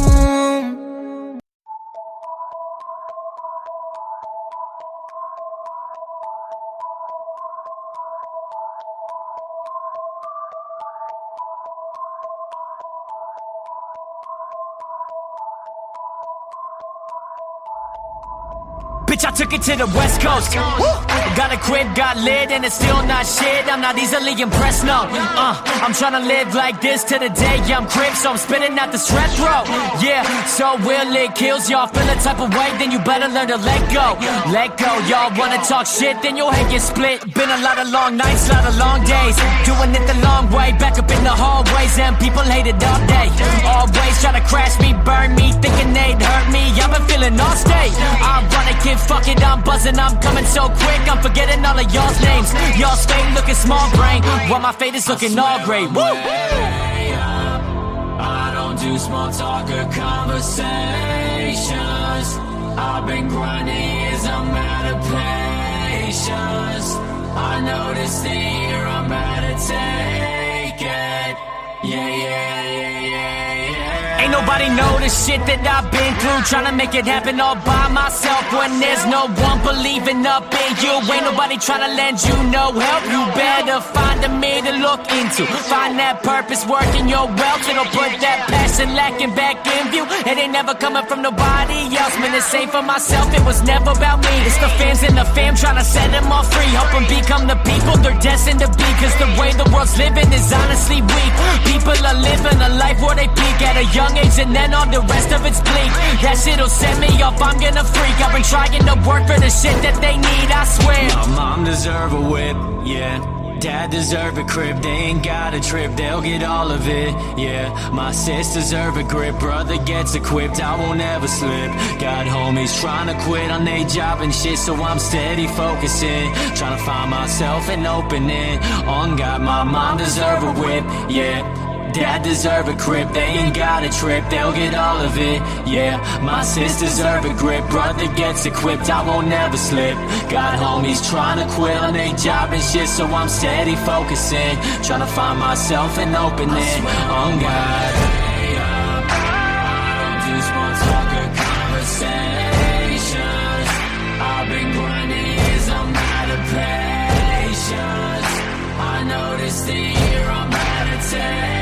Bitch, I took it to the West Coast. Got a crib, got lit, and it's still not shit. I'm not easily impressed, no. I'm tryna live like this to the day I'm crib, so I'm spitting out the strep throat. Yeah, so will it kills y'all. Feel the type of way, then you better learn to let go. Let go, y'all wanna talk shit, then your head get split. Been a lot of long nights, lot of long days. Doing it the long way, back up in the hallways, and people hate it all day. Always try to crash me, burn me, thinking they'd hurt me. I've been feeling all state. I'm running, kid, fuck it, I'm buzzing, I'm coming so quick, I'm forgetting all of y'all's names. Y'all's fake looking small brain, while my fate is looking all great. Woo! I don't do small talk or conversations. I've been grinding years, I'm out of patience. I know this thing here, I'm out to take it. Yeah. Ain't nobody know the shit that I've been through, tryna make it happen all by myself when there's no one believing up in you. Ain't nobody tryna lend you no help. You better find a me to look into. Find that purpose, working your wealth. It'll put that passion lacking back in view. It ain't never coming from nobody else. Man, it's safe for myself, it was never about me. It's the fans and the fam tryna set them all free. Help them become the people they're destined to be. Cause the way the world's living is honestly weak. People are living a life where they peak at a young age, and then all the rest of it's bleak. That shit'll set me off, I'm gonna freak. I've been trying to work for the shit that they need, I swear. My mom deserve a whip, yeah. Dad deserve a crib, they ain't got a trip, they'll get all of it, yeah. My sis deserve a grip, brother gets equipped, I won't ever slip. Got homies trying to quit on their job and shit, so I'm steady focusing, trying to find myself an opening. On God, my mom deserve a whip, yeah. Dad deserve a crib, they ain't got a trip, they'll get all of it, yeah. My sis deserve a grip, brother gets equipped, I won't never slip. Got homies trying to quit on their job and shit, so I'm steady focusing, trying to find myself an opening. On God, I don't do small talk or conversations. I've been grinding years, I'm out of patience. I know this thing here, I'm out of take.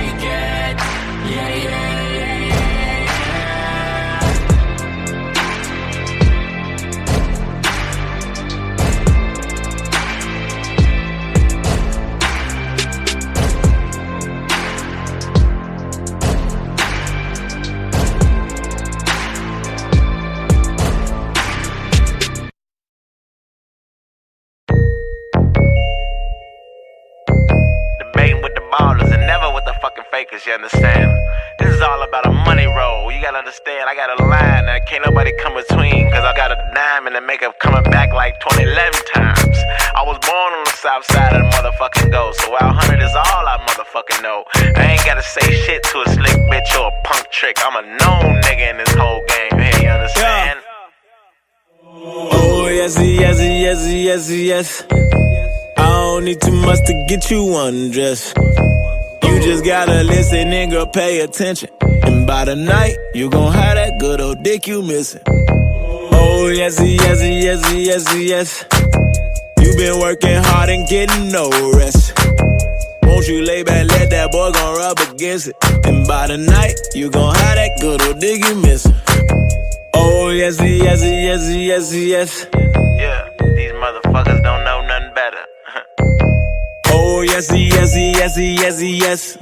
Fakers, you understand? This is all about a money roll. You gotta understand, I got a line that can't nobody come between. Cause I got a diamond and makeup coming back like 2011 times. I was born on the south side of the motherfucking go. So Wild 100 is all I motherfucking know. I ain't gotta say shit to a slick bitch or a punk trick. I'm a known nigga in this whole game here, you understand? Oh, yes, yes, yes, yes, yes. I don't need too much to get you undressed. You You just gotta listen, nigga, pay attention. And by the night, you gon' have that good old dick you missing. Oh, yes, yes, yes, yes, yes. You been working hard and getting no rest. Won't you lay back, let that boy gon' rub against it. And by the night, you gon' have that good old dick you missing. Oh, yes, yes, yes, yes, yes. Yeah, these motherfuckers don't know nothing better. Oh, yes, yes, yes, yes, yes.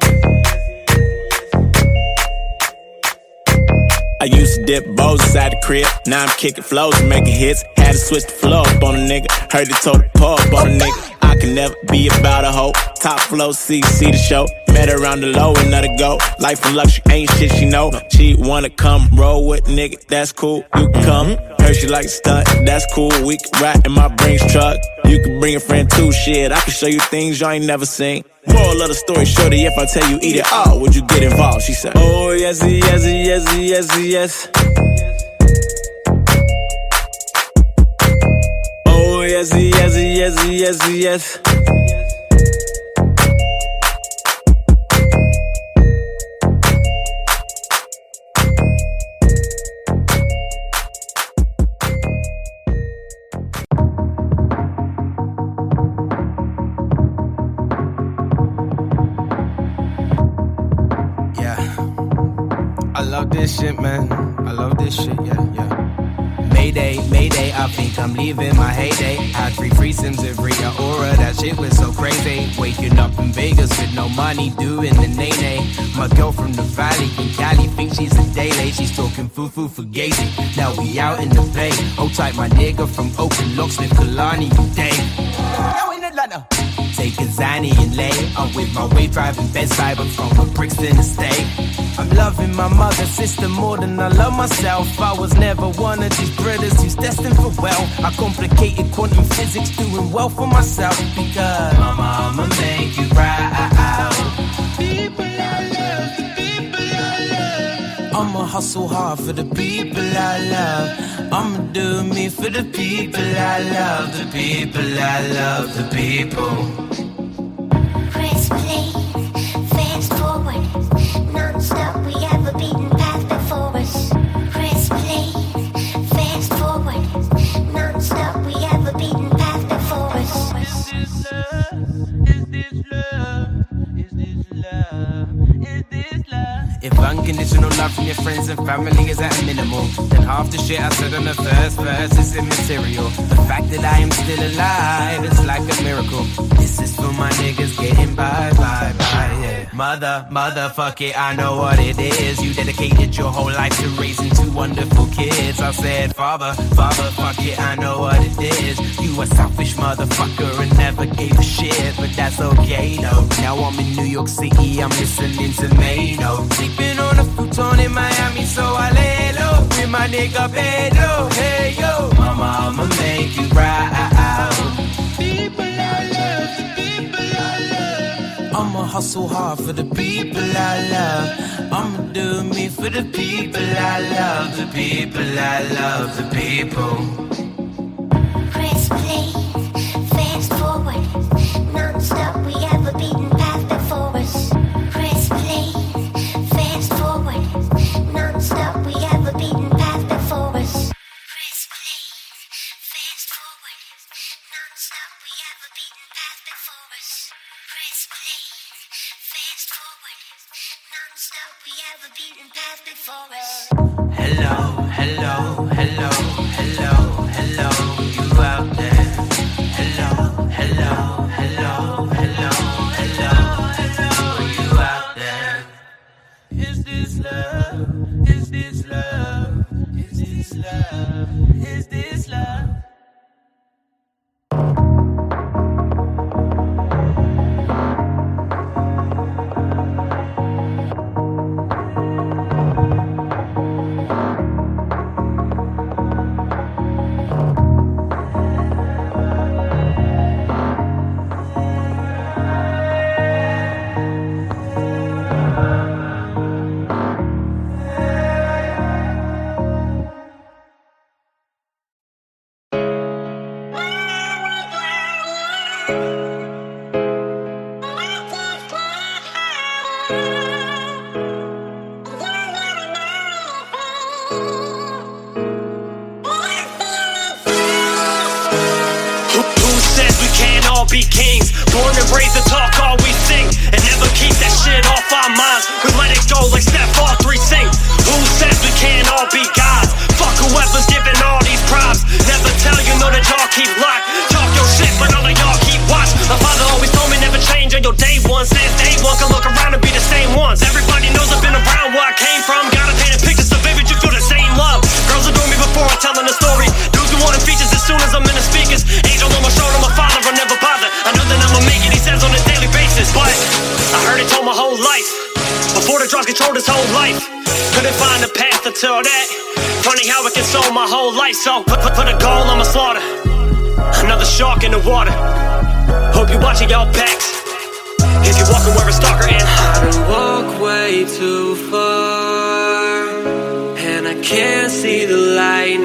I used to dip bows inside the crib. Now I'm kicking flows and making hits. Had to switch the flow up on a nigga. Heard it told the pull up on a nigga. I can never be about a hoe. Top flow, see the show. Met her around the low and let her go. Life and luxury ain't shit she know. She wanna come roll with nigga, that's cool. You can come. Heard she like stunt, that's cool. We can ride in my Brinks truck. You can bring a friend too, shit. I can show you things you ain't never seen. Moral of the story, shorty, if I tell you eat it all, would you get involved? She said, oh, yes, yes, yes, yes, yes. Oh, yes, yes, yes, yes, yes. I love this shit, man. I love this shit, yeah. Mayday, Mayday, I think I'm leaving my heyday. Had 3 threesomes every aura, that shit was so crazy. Waking up in Vegas with no money, doing the nay-nay. My girl from the valley in Cali thinks she's a daily. She's talking foo-foo for gazing. Now we out in the bay. Hold tight, my nigga from Oakland, Locksmith, Kalani, Dave. Now in Atlanta. Take a Zanny and lay. I'm with my wave driving bedside, but from Brixton Estate. I'm loving my mother, sister more than I love myself. I was never one of these brothers who's destined for well. I complicated quantum physics, doing well for myself. Because mama, I'ma make you proud. People I love, the people I love. I'ma hustle hard for the people I love. I'ma do me for the people I love. The people I love, the people. Press play, fast forward. Non-stop, we have a beaten path before us. Press play, fast forward. Non-stop, we have a beaten path before us. Is this love? Is this love? Is this love? Is this love? If unconditional love from your friends and family is at a minimal, then half the shit I said on the first verse is immaterial. The fact that I am still alive, it's like a miracle. This is for my niggas getting by, yeah. Motherfuck it, I know what it is. You dedicated your whole life to raising 2 wonderful kids. I said, father, fuck it, I know what it is. You a selfish motherfucker and never gave a shit, but that's okay, though. Now I'm in New York City, I'm listening to Mano. Sleeping on a futon in Miami, so I lay low. With my nigga Pedro, hey yo. Mama, I'ma make you proud. People I love, the people I love. I'ma hustle hard for the people I love. I'ma do me for the people I love. The people I love, the people. Press play, fast forward. Non-stop, we have a beaten path before us. Press play, fast forward. Non-stop, we have a beaten path before us. Press play, fast forward. Non-stop, we have a beaten path before us. Press play, fast forward. Non-stop, we have a beaten path before us. Hello, hello, hello, hello, hello, you out there. Hello, hello, hello, hello, hello, hello, you out there. Is this love? Is this love? Is this love? Is this love? be kings. Born and raised to talk all we sing, and never keep that shit off our minds. We let it go like Steph, all three sing. Who says we can't all be gods? Fuck whoever's giving all these props. Never tell you know that y'all keep locked. Talk your shit, but all of y'all keep watch. My father always told me never change on your day one. Since day one can look around and be the same ones. Everybody knows I've been around where I came from. Gotta paint a picture so vivid you feel the same love. Girls adore me before I'm telling a story. Dudes be wanting features as soon as I'm in the speakers. Angel on my shoulder, my father will never bother. I know that I'ma make it, he says on a daily basis. But I heard it told my whole life. Before the drugs controlled his whole life. Couldn't find a path until that. Funny how it consumed my whole life. So put a goal on my slaughter. Another shark in the water. Hope you watching y'all backs. If you're walking where a stalker and I done walk way too far, and I can't see the light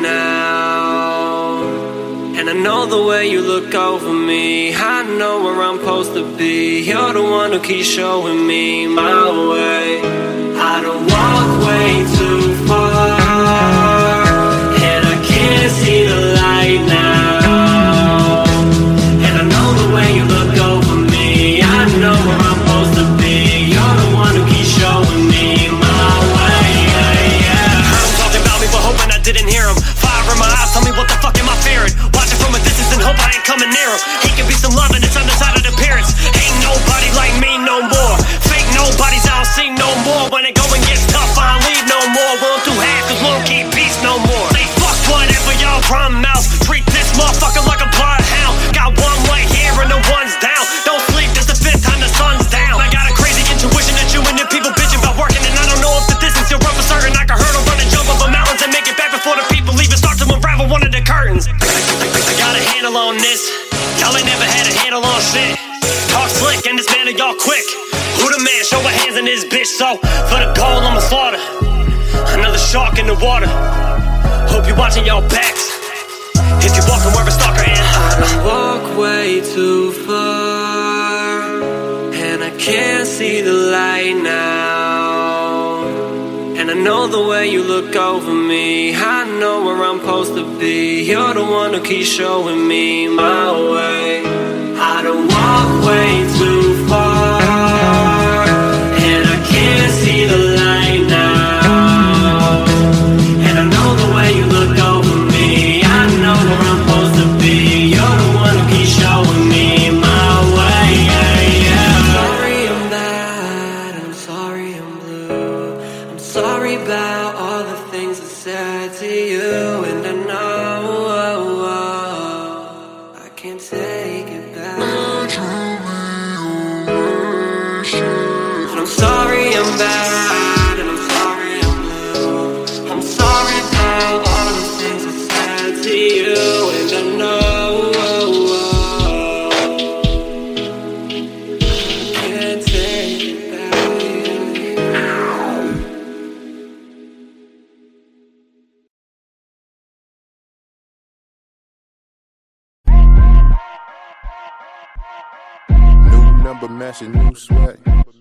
now. And I know the way you look over me, I know where I'm supposed to be. You're the one who keeps showing me my way. I done walk way too far, and I can't see the light now. And I know the way you look over me, I know where I'm supposed to be. You're the one who keeps showing me my way. Heard him talking about me but hoping I didn't hear him. Fire in my eyes, tell me what the fuck am I fearing? Watching from a distance and hope I ain't coming near him. He can be some love and it's undecided appearance. Ain't nobody like me no more. Fake nobodies I don't see no more. When it going gets tough I don't leave no more. Won't do half cause won't keep peace no more. Say fuck whatever y'all run mouth. Treat this motherfucker like a bloodhound. Got one leg here and the one's down. Don't sleep, this the fifth time the sun's down. I got a crazy intuition that you and your people bitching about working. And I don't know if the distance you'll run for certain. I can hurdle, run and jump over mountains and make it back before the people even start to unravel one of the curtains. I got a handle on this. Y'all ain't never had a handle on shit. Talk slick and dismantle y'all quick. Who the man? Show my hands in this bitch. So for the goal I'ma slaughter. Another shark in the water. Hope you watching y'all backs. If you walking where a stalker and I walk way too far, and I can't see the light now. And I know the way you look over me, I know where I'm supposed to be. You're the one who keeps showing me my way. I done walk way too far, and I can't see the light now. And I know the way you look over me, I know where I'm supposed to be. You're the one who keeps showing me my way. I'm sorry I'm bad, I'm sorry I'm blue. I'm sorry about all the things I said to you. And I know I can't take it back. And I'm sorry I'm bad, and I'm sorry I'm blue. I'm sorry about all the things I said to you. And I know I can't take it back. New number matching new swag.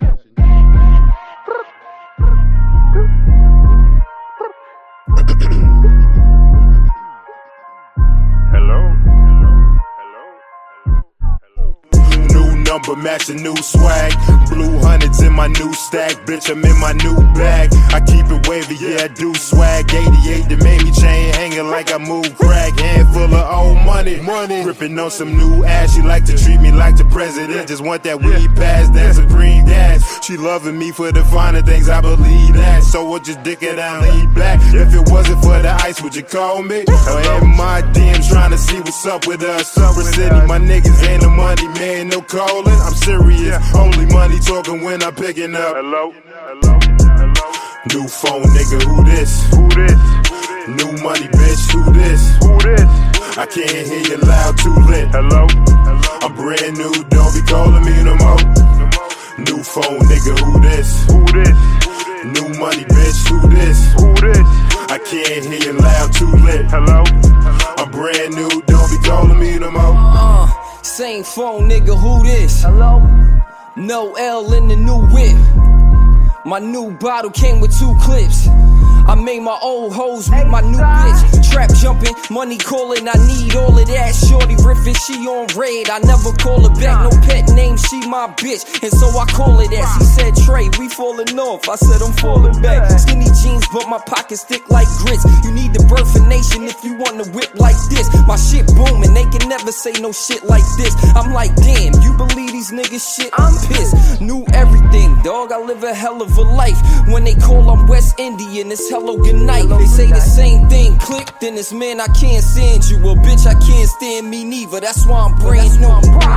Number matching new swag, blue hundreds in my new stack, bitch I'm in my new bag, I keep it wavy, yeah I do swag, 88 that made me chain hanging like I move crack, handful of old money, ripping on some new ass, she like to treat me like the president, just want that weed pass, that supreme gas, she loving me for the finer things, I believe that, so we'll just dick it out, lean back, if it wasn't for the ice would you call me, or in my DMs trying to see what's up with us, Summer City, my niggas ain't no money man, no call. I'm serious, only money talking when I'm picking up. Hello, hello, hello. New phone, nigga, who this? Who this? New money, bitch, who this? Who this? I can't hear you loud, too lit. Hello, hello. I'm brand new, don't be calling me no more. New phone, nigga, who this? Who this? New money, bitch, who this? Who this? I can't hear you loud, too lit. Hello, I'm brand new, don't be calling me no more. Same phone, nigga, who this? Hello? No L in the new whip. My new bottle came with 2 clips. I made my old hoes meet my new bitch. Trap jumping, money calling, I need all of that. Shorty riffing, she on red, I never call her back. No pet name, she my bitch, and so I call her that. She said, Trey, we falling off, I said I'm falling back. Skinny jeans, but my pockets thick like grits. You need the birth of nation if you want to whip like this. My shit booming, they can never say no shit like this. I'm like, damn, you believe these niggas shit? I'm pissed. Knew everything, dog, I live a hell of a life. When they call I'm West Indian, it's hello good night. They say the same thing, click, then it's man, I can't stand you. Well, bitch, I can't stand me neither. That's why I'm brand new.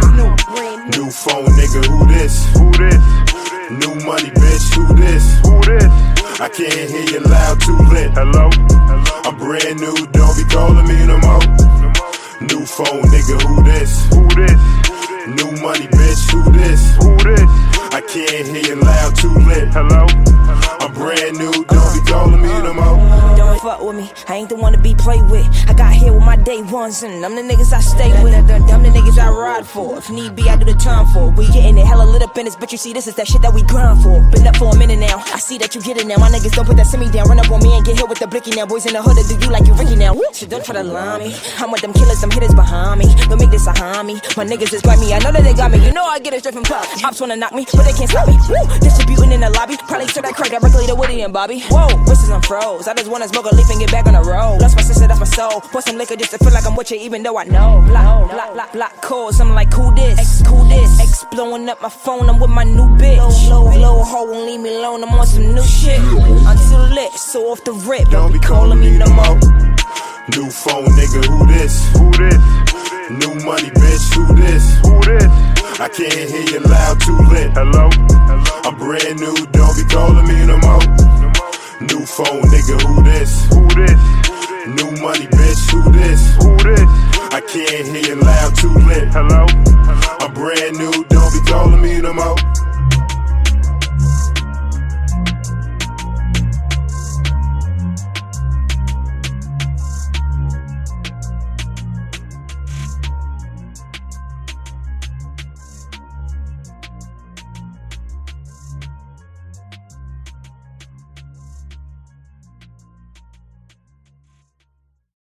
New phone, nigga, who this? Who this? New money, bitch, who this? Who this? I can't hear you loud, too lit. Hello? I'm brand new, don't be calling me no more. New phone, nigga, who this? Who this? New money, bitch, who this? Who this? I can't hear you loud, too lit. Hello? I'm brand new, don't be calling me no more. Don't fuck with me, I ain't the one to be played with. I got here with my day ones, and I'm the niggas I stay with. I'm the niggas I ride for. If need be, I do the time for. We getting it hella lit up in this bitch, you see, this is that shit that we grind for. Been up for a minute now, I see that you get it now. My niggas don't put that semi down. Run up on me and get hit with the blicky now. Boys in the hood, do you like you Ricky now? Shit, don't try to lie me. I'm with them killers, them hitters behind me. Don't make this a homie. My niggas is grimy, I know that they got me. You know I get it straight from top. Ops wanna knock me, but they can't stop me. Woo! Distributing in the lobby, probably serve that crack directly to Woody and Bobby. Whoa, wrists I'm froze. I just wanna smoke a leaf and get back on the road. That's my sister, that's my soul. Pour some liquor just to feel like I'm with you, even though I know. Block calls, I'm like, who this? Who this? X blowing up my phone, I'm with my new bitch. Low hoe won't leave me alone, I'm on some new shit. I'm too lit, so off the rip, don't be calling me no more. New phone, nigga, who this? Who this? New money, bitch, who this? Who this? I can't hear you loud, too lit. Hello? I'm brand new, don't be calling me no more. New phone, nigga, who this? Who this? New money, bitch, who this? Who this? I can't hear you loud, too lit. Hello?